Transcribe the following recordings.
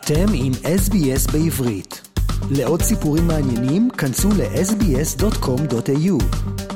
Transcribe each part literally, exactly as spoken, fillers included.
אתם עם אס בי אס בעברית. לעוד סיפורים מעניינים, כנסו ל-אס בי אס דוט קום דוט איי יו.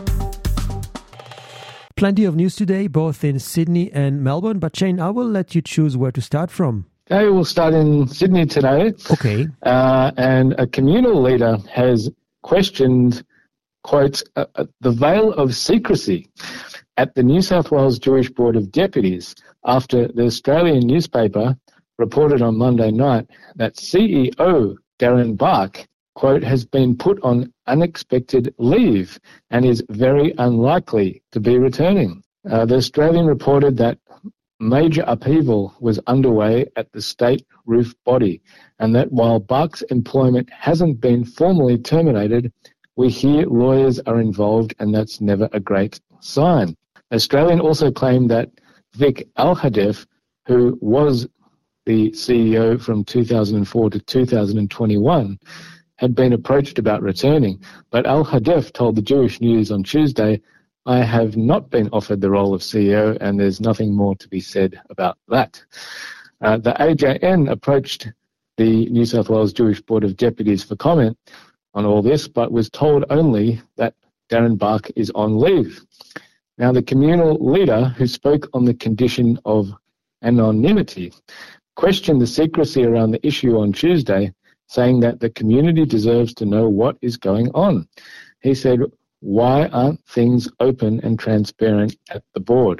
Plenty of news today, both in Sydney and Melbourne, but Shane, I will let you choose where to start from. Okay, we'll start in Sydney today. Okay. Uh, and a communal leader has questioned, quote, uh, uh, the veil of secrecy at the New South Wales Jewish Board of Deputies after the Australian newspaper reported on Monday night that C E O Darren Bark, quote, has been put on unexpected leave and is very unlikely to be returning. Uh, the Australian reported that major upheaval was underway at the state roof body and that while Bark's employment hasn't been formally terminated, we hear lawyers are involved and that's never a great sign. Australian also claimed that Vic Al-Hadef, who was the C E O from two thousand four to two thousand twenty-one, had been approached about returning, but Al-Hadef told the Jewish News on Tuesday, I have not been offered the role of C E O and there's nothing more to be said about that. Uh, the A J N approached the New South Wales Jewish Board of Deputies for comment on all this, but was told only that Darren Bark is on leave. Now, the communal leader, who spoke on the condition of anonymity, questioned the secrecy around the issue on Tuesday, saying that the community deserves to know what is going on. He said, why aren't things open and transparent at the board?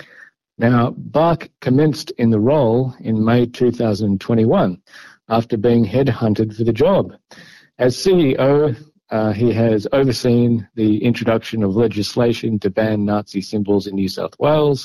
Now, Bark commenced in the role in May two thousand twenty-one after being headhunted for the job. As C E O, uh, he has overseen the introduction of legislation to ban Nazi symbols in New South Wales,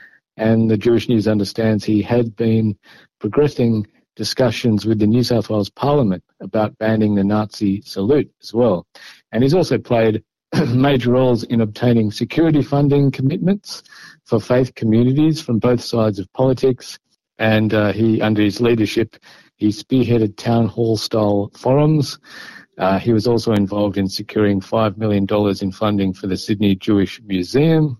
and the Jewish News understands he had been progressing discussions with the New South Wales Parliament about banning the Nazi salute as well. And he's also played major roles in obtaining security funding commitments for faith communities from both sides of politics. And uh, he, under his leadership, he spearheaded town hall style forums. Uh, he was also involved in securing five million dollars in funding for the Sydney Jewish Museum.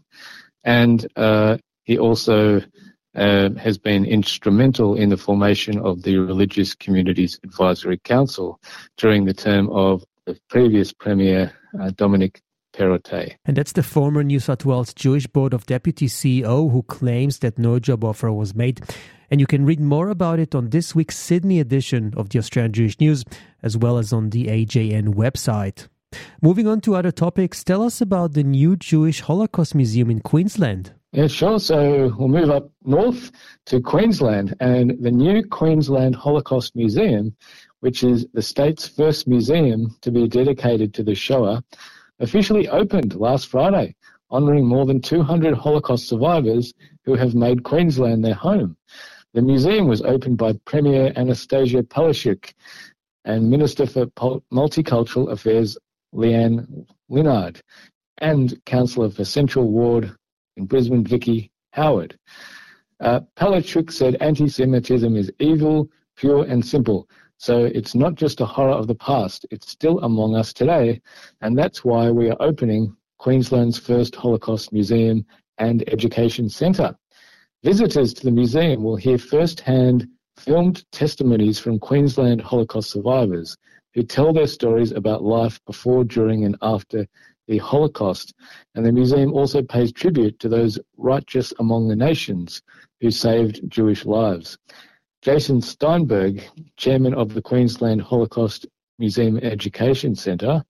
And uh, he also uh, has been instrumental in the formation of the Religious Communities Advisory Council during the term of the previous Premier, uh, Dominic Perrottet. And that's the former New South Wales Jewish Board of Deputies C E O who claims that no job offer was made. And you can read more about it on this week's Sydney edition of the Australian Jewish News, as well as on the A J N website. Moving on to other topics, tell us about the new Jewish Holocaust Museum in Queensland. Yeah, sure. So we'll move up north to Queensland, and the new Queensland Holocaust Museum, which is the state's first museum to be dedicated to the Shoah, officially opened last Friday, honouring more than two hundred Holocaust survivors who have made Queensland their home. The museum was opened by Premier Anastasia Palaszczuk and Minister for Multicultural Affairs Leanne Linnard and Councillor for Central Ward in Brisbane, Vicky Howard. Uh, Palaszczuk said anti-Semitism is evil, pure and simple. So it's not just a horror of the past, it's still among us today, and that's why we are opening Queensland's first Holocaust Museum and Education Centre. Visitors to the museum will hear first-hand filmed testimonies from Queensland Holocaust survivors who tell their stories about life before, during and after the Holocaust. And the museum also pays tribute to those righteous among the nations who saved Jewish lives. Jason Steinberg, chairman of the Queensland Holocaust Museum Education Centre,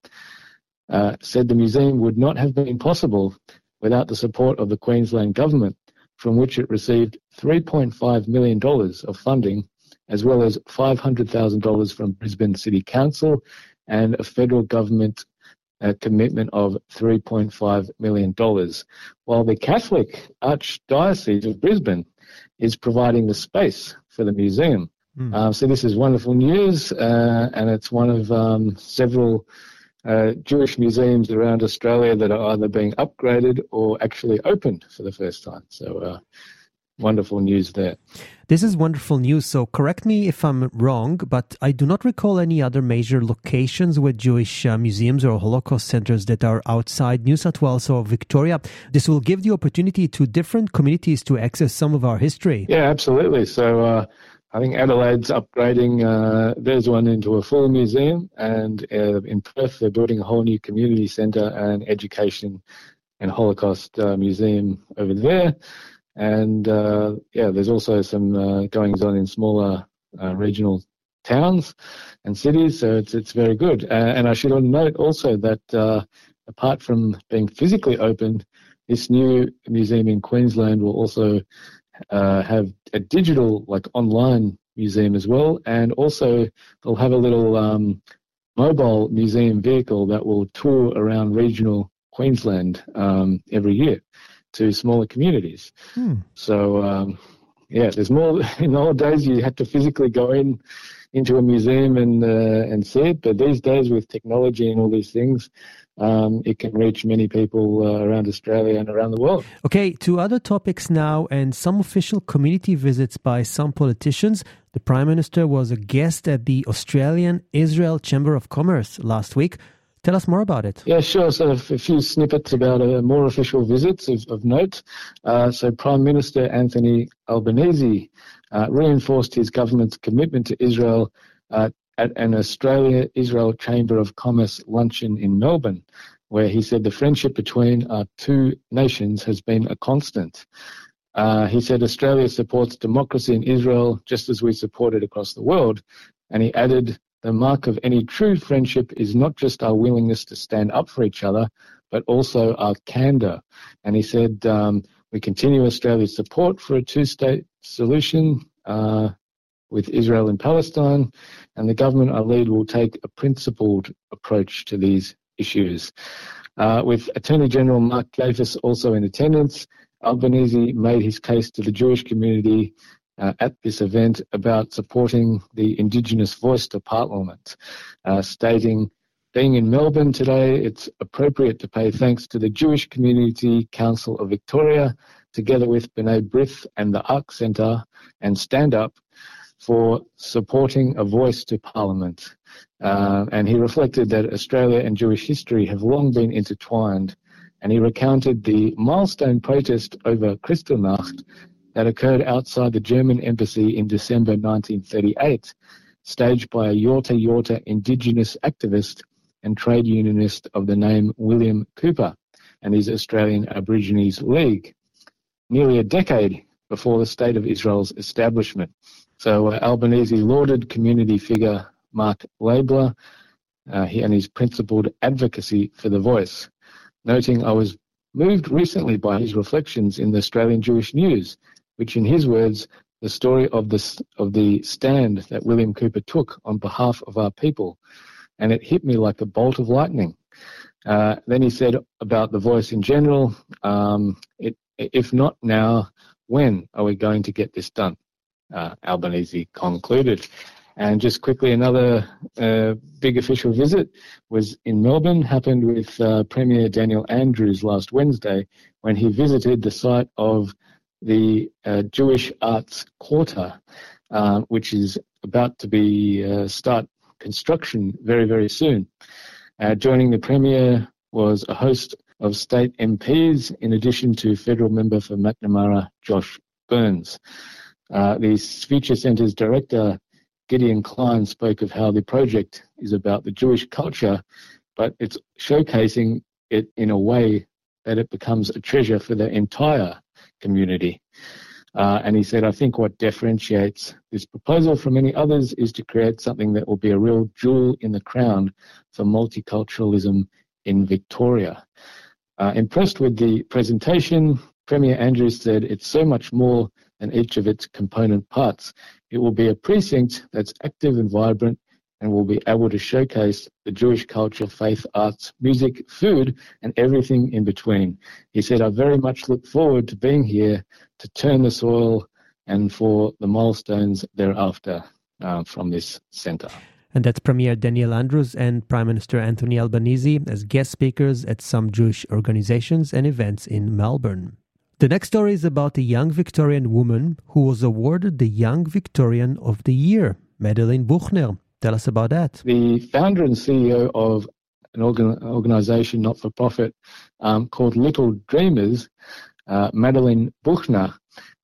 uh, said the museum would not have been possible without the support of the Queensland government, from which it received three point five million dollars of funding, as well as five hundred thousand dollars from Brisbane City Council and a federal government uh, commitment of three point five million dollars, while the Catholic Archdiocese of Brisbane is providing the space for the museum. Mm. Uh, so this is wonderful news, uh, and it's one of um, several uh, Jewish museums around Australia that are either being upgraded or actually opened for the first time. So uh, wonderful news there. This is wonderful news. So correct me if I'm wrong, but I do not recall any other major locations with Jewish uh, museums or Holocaust centers that are outside New South Wales or Victoria. This will give the opportunity to different communities to access some of our history. Yeah, absolutely. So uh, I think Adelaide's upgrading, uh, there's one into a full museum, and uh, in Perth they're building a whole new community centre and education and Holocaust uh, museum over there. And uh, yeah, there's also some uh, goings on in smaller uh, regional towns and cities, so it's it's very good. Uh, and I should note also that uh, apart from being physically open, this new museum in Queensland will also uh, have a digital, like online museum as well, and also they'll have a little um, mobile museum vehicle that will tour around regional Queensland um, every year to smaller communities. Hmm. So um, yeah, there's more. In the old days, you had to physically go in into a museum and uh, and see it, but these days with technology and all these things, um, it can reach many people uh, around Australia and around the world. Okay, to other topics now, and some official community visits by some politicians. The Prime Minister was a guest at the Australian-Israel Chamber of Commerce last week. Tell us more about it. Yeah, sure. So a few snippets about uh, more official visits of, of note. Uh, so Prime Minister Anthony Albanese uh, reinforced his government's commitment to Israel uh, at an Australia-Israel Chamber of Commerce luncheon in Melbourne, where he said the friendship between our two nations has been a constant. Uh, he said Australia supports democracy in Israel just as we support it across the world. And he added, the mark of any true friendship is not just our willingness to stand up for each other, but also our candour. And he said, um, we continue Australia's support for a two-state solution uh, with Israel and Palestine, and the government I lead will take a principled approach to these issues. Uh, with Attorney General Mark Gatiss also in attendance, Albanese made his case to the Jewish community Uh, at this event about supporting the Indigenous voice to Parliament, uh, stating, being in Melbourne today, it's appropriate to pay thanks to the Jewish Community Council of Victoria, together with B'nai B'rith and the Ark Centre and Stand Up, for supporting a voice to Parliament. Uh, and he reflected that Australia and Jewish history have long been intertwined, and he recounted the milestone protest over Kristallnacht that occurred outside the German embassy in December nineteen thirty-eight, staged by a Yorta Yorta Indigenous activist and trade unionist of the name William Cooper and his Australian Aborigines League, nearly a decade before the State of Israel's establishment. So uh, Albanese lauded community figure Mark Laibler uh, he, and his principled advocacy for the voice, noting, I was moved recently by his reflections in the Australian Jewish News, which in his words, the story of the, of the stand that William Cooper took on behalf of our people, and it hit me like a bolt of lightning. Uh, then he said about the voice in general, um, it, if not now, when are we going to get this done? Uh, Albanese concluded. And just quickly, another uh, big official visit was in Melbourne, happened with uh, Premier Daniel Andrews last Wednesday, when he visited the site of the uh, Jewish Arts Quarter, uh, which is about to be uh, start construction very, very soon. Uh, joining the Premier was a host of state M Ps, in addition to federal member for McNamara, Josh Burns. Uh, the Feature Centre's director, Gideon Klein, spoke of how the project is about the Jewish culture, but it's showcasing it in a way that it becomes a treasure for the entire community. Uh, and he said, I think what differentiates this proposal from many others is to create something that will be a real jewel in the crown for multiculturalism in Victoria. Uh, impressed with the presentation, Premier Andrews said it's so much more than each of its component parts. It will be a precinct that's active and vibrant and will be able to showcase the Jewish culture, faith, arts, music, food, and everything in between. He said, I very much look forward to being here to turn the soil and for the milestones thereafter uh, from this centre. And that's Premier Daniel Andrews and Prime Minister Anthony Albanese as guest speakers at some Jewish organizations and events in Melbourne. The next story is about a young Victorian woman who was awarded the Young Victorian of the Year, Madeleine Buchner. Tell us about that. The founder and C E O of an organ- organisation, not-for-profit, um, called Little Dreamers, uh, Madeleine Buchner,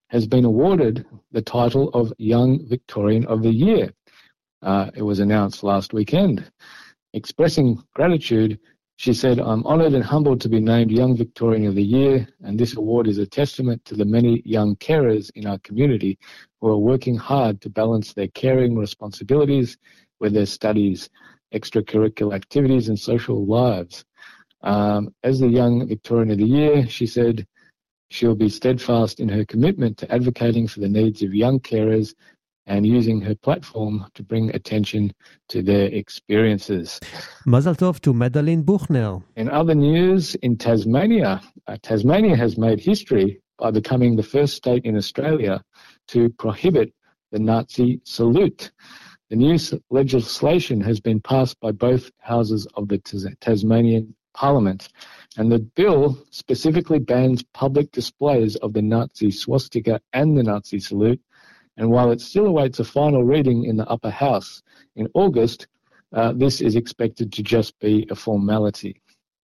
has been awarded the title of Young Victorian of the Year. Uh, it was announced last weekend. Expressing gratitude, she said, "I'm honoured and humbled to be named Young Victorian of the Year, and this award is a testament to the many young carers in our community who are working hard to balance their caring responsibilities with their studies, extracurricular activities and social lives." Um, as the Young Victorian of the Year, she said she'll be steadfast in her commitment to advocating for the needs of young carers and using her platform to bring attention to their experiences. Mazel tov to Madeleine Buchner. In other news, in Tasmania, uh, Tasmania has made history by becoming the first state in Australia to prohibit the Nazi salute. The new legislation has been passed by both houses of the Tas- Tasmanian Parliament, and the bill specifically bans public displays of the Nazi swastika and the Nazi salute. And while it still awaits a final reading in the upper house in August, uh, this is expected to just be a formality.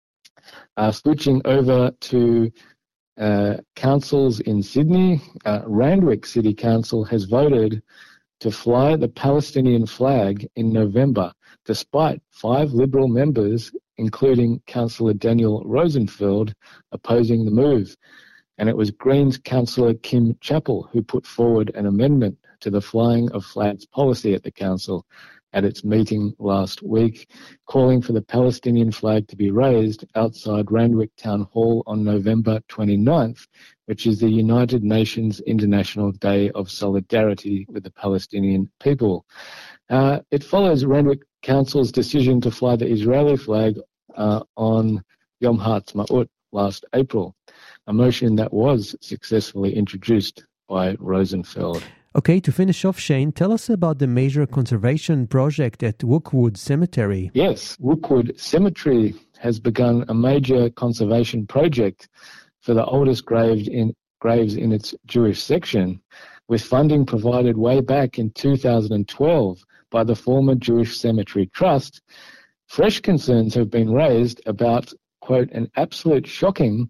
Uh, switching over to uh, councils in Sydney, uh, Randwick City Council has voted to fly the Palestinian flag in November, despite five Liberal members, including Councillor Daniel Rosenfeld, opposing the move. And it was Greens Councillor Kim Chappell who put forward an amendment to the flying of flags policy at the council at its meeting last week, calling for the Palestinian flag to be raised outside Randwick Town Hall on November twenty-ninth, which is the United Nations International Day of Solidarity with the Palestinian people. Uh, it follows Randwick Council's decision to fly the Israeli flag uh, on Yom Ha'atzmaut last April, a motion that was successfully introduced by Rosenfeld. Okay, to finish off, Shane, tell us about the major conservation project at Rookwood Cemetery. Yes, Rookwood Cemetery has begun a major conservation project for the oldest graves in, graves in its Jewish section, with funding provided way back in two thousand twelve by the former Jewish Cemetery Trust. Fresh concerns have been raised about, quote, an absolute shocking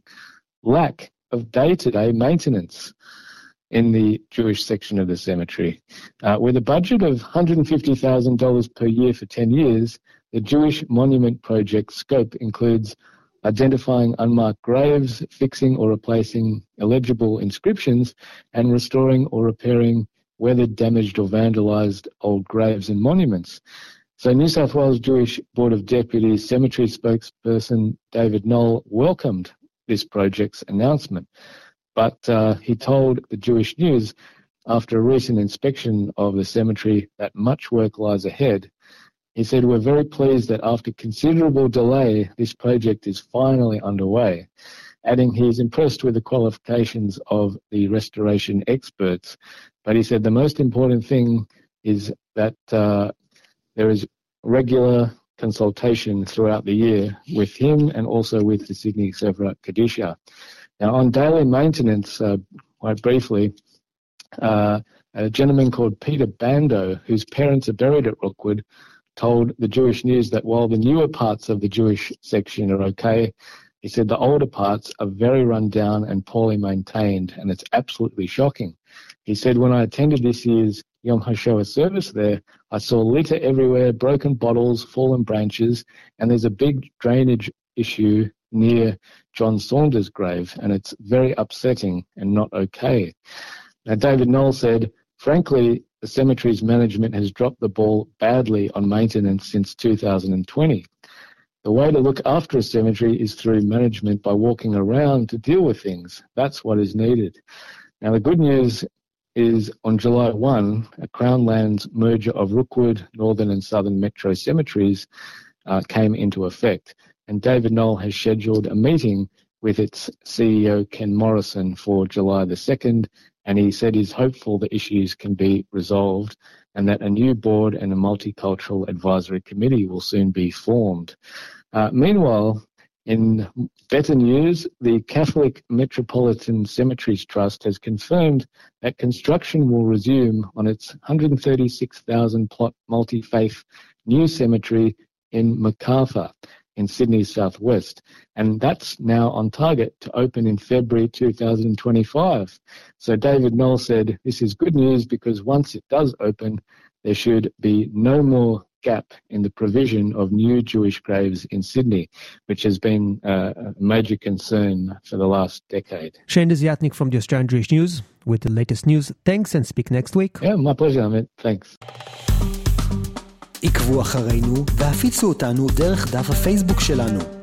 lack of day-to-day maintenance in the Jewish section of the cemetery. Uh, with a budget of one hundred fifty thousand dollars per year for ten years, the Jewish Monument Project scope includes identifying unmarked graves, fixing or replacing illegible inscriptions, and restoring or repairing weathered, damaged or vandalized old graves and monuments. So New South Wales Jewish Board of Deputies Cemetery spokesperson David Knoll welcomed this project's announcement. But uh, he told the Jewish News after a recent inspection of the cemetery that much work lies ahead. He said, "We're very pleased that after considerable delay, this project is finally underway," adding he is impressed with the qualifications of the restoration experts. But he said the most important thing is that uh, there is regular consultation throughout the year with him and also with the Sydney Sephra Kadisha. Now, on daily maintenance, uh, quite briefly, uh, a gentleman called Peter Bando, whose parents are buried at Rookwood, told the Jewish News that while the newer parts of the Jewish section are okay, he said the older parts are very run down and poorly maintained, and it's absolutely shocking. He said, "When I attended this year's Yom HaShoah service there, I saw litter everywhere, broken bottles, fallen branches, and there's a big drainage issue near John Saunders' grave, and it's very upsetting and not okay." Now, David Knoll said, "Frankly, the cemetery's management has dropped the ball badly on maintenance since two thousand twenty. The way to look after a cemetery is through management by walking around to deal with things. That's what is needed." Now, the good news is on July first, a Crown Lands merger of Rookwood, Northern and Southern Metro Cemeteries uh, came into effect. And David Knoll has scheduled a meeting with its C E O, Ken Morrison, for July the second, and he said he's hopeful the issues can be resolved and that a new board and a multicultural advisory committee will soon be formed. Uh, meanwhile, in better news, the Catholic Metropolitan Cemeteries Trust has confirmed that construction will resume on its one hundred thirty-six thousand plot multi-faith new cemetery in Macarthur. in Sydney's southwest. And that's now on target to open in February two thousand twenty-five. So David Knoll said, this is good news because once it does open, there should be no more gap in the provision of new Jewish graves in Sydney, which has been uh, a major concern for the last decade. Shane Desiatnik from the Australian Jewish News with the latest news. Thanks and speak next week. Yeah, my pleasure, Amit. Thanks. עקבו אחרינו והפיצו אותנו דרך דף הפייסבוק שלנו.